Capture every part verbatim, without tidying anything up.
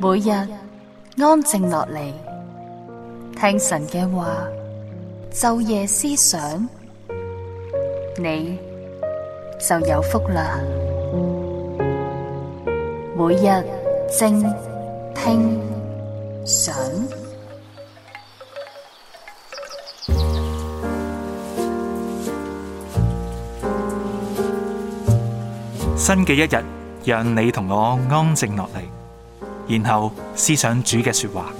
每日安靜落嚟，聽神嘅話，晝夜思想，你就有福啦。每日靜聽想， 新嘅一日，讓你同我安靜落嚟，然後思想主嘅說話。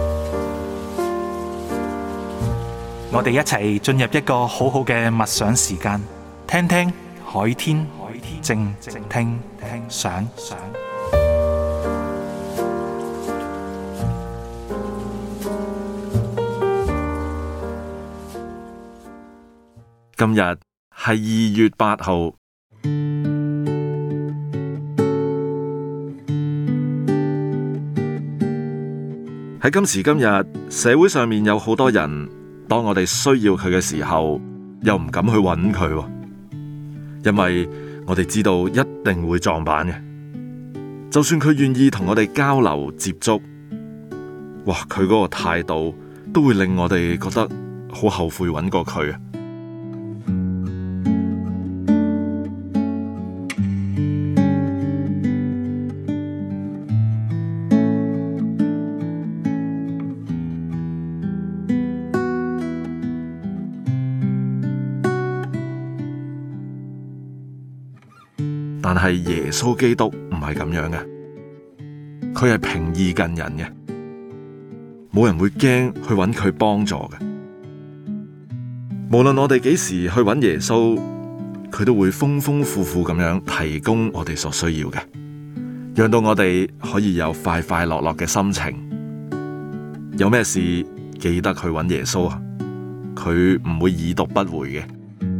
我哋一齊進入一個好好嘅默想時間，聽聽海天靜聽想。 今日係二月八號。喺今時今日，社會上面有好多人，當我哋需要佢嘅時候，又唔敢去揾佢，因為我哋知道一定會撞板嘅。就算佢願意同我哋交流接觸，哇，佢嗰個態度都會令我哋覺得好後悔揾過佢啊！但係耶穌基督唔係咁樣嘅，佢係平易近人嘅，冇人會驚去揾佢幫助嘅。無論我哋幾時去揾耶穌，佢都會豐豐富富咁樣提供我哋所需要嘅，讓到我哋可以有快快樂樂嘅心情。有咩事記得去揾耶穌啊，佢唔會已讀不回嘅。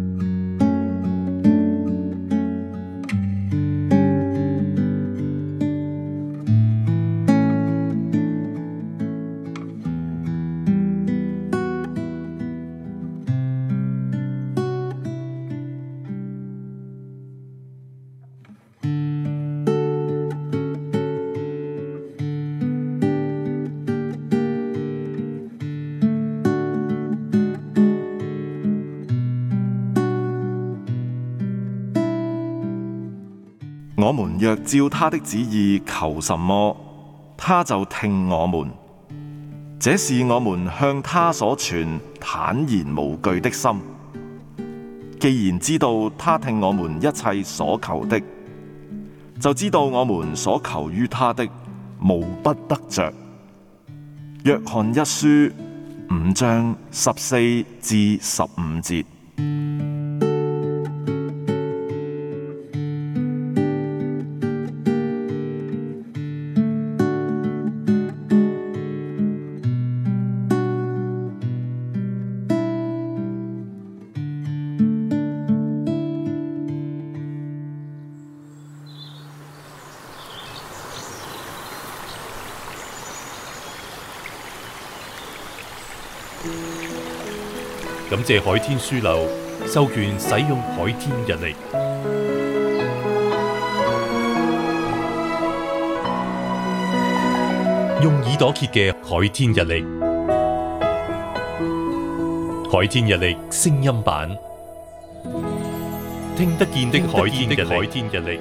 我們若照他的旨意求什麼，他就聽我們。這是我們向他所存坦然無懼的心。既然知道他聽我們一切所求的，就知道我們所求於他的無不得着。約翰一書五章十四至十五節。 感謝海天書樓授權使用海天日曆，用耳朵揭嘅海天日曆，海天日曆聲音版，聽得見的海天日曆。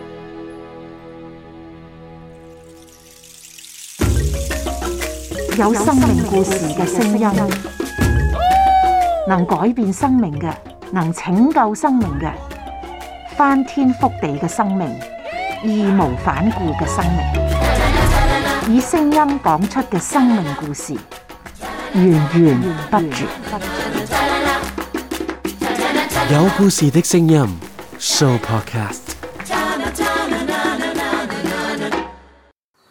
有生命故事嘅聲音，能改變生命嘅，能拯救生命嘅，翻天覆地嘅生命，義無反顧嘅生命，以聲音講出嘅生命故事，源源不絕。 有故事的聲音 Show Podcast。